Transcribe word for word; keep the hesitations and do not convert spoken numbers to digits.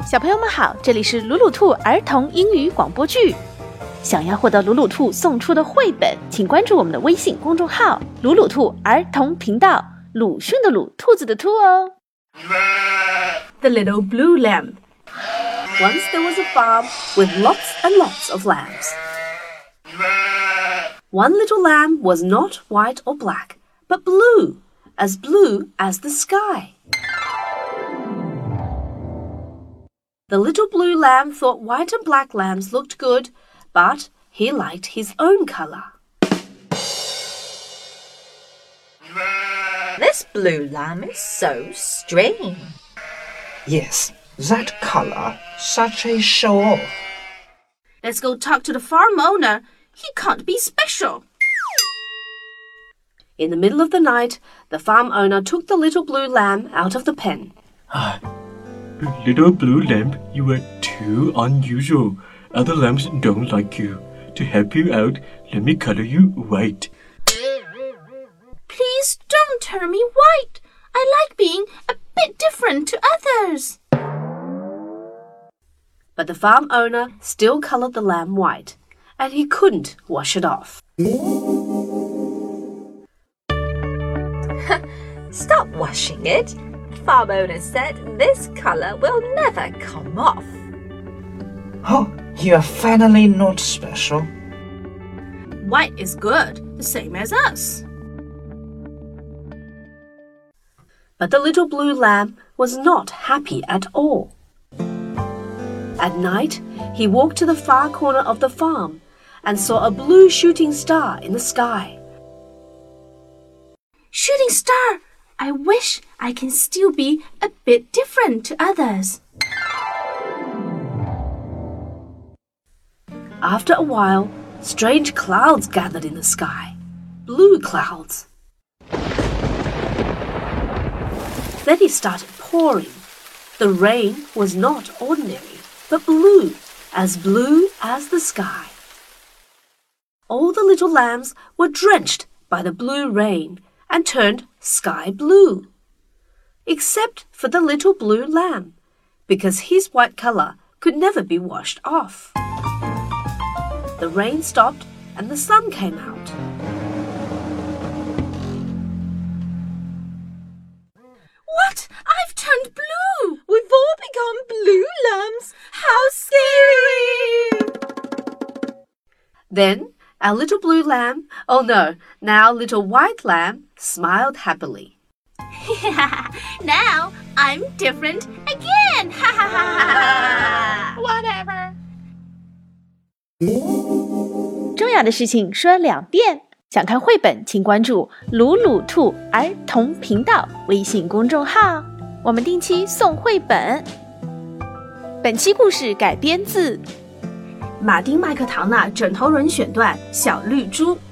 小朋友们好，这里是鲁鲁兔儿童英语广播剧。想要获得鲁鲁兔送出的绘本，请关注我们的微信公众号鲁鲁兔儿童频道，鲁迅的鲁，兔子的兔哦。 The Little Blue Lamb. Once there was a farm with lots and lots of lambs. One little lamb was not white or black, but blue, as blue as the sky. The little blue lamb thought white and black lambs looked good, but he liked his own colour. This blue lamb is so strange. Yes, that colour, such a show-off. Let's go talk to the farm owner. He can't be special. In the middle of the night, the farm owner took the little blue lamb out of the pen. Ah, little blue lamb, you are too unusual. Other lambs don't like you. To help you out, let me color you white. Please don't turn me white. I like being a bit different to others. But the farm owner still colored the lamb white, and he couldn't wash it off. Stop washing it. The farm owner said this colour will never come off. Oh, you are finally not special. White is good, the same as us. But the little blue lamb was not happy at all. At night, he walked to the far corner of the farm and saw a blue shooting star in the sky. Shooting star! I wish I can still be a bit different to others. After a while, strange clouds gathered in the sky. Blue clouds. Then it started pouring. The rain was not ordinary, but blue, as blue as the sky. All the little lambs were drenched by the blue rain and turned sky blue, except for the little blue lamb, because his white colour could never be washed off. The rain stopped and the sun came out. What? I've turned blue! We've all become blue lambs. How scary! Then our little blue lamb, oh no, now little white lamb, smiled happily. Now I'm different again! Whatever. 重要的事情说两遍。想看绘本，请关注鲁鲁兔儿童频道微信公众号，我们定期送绘本。本期故事改编自马丁麦克唐纳枕头人选段《小绿猪》。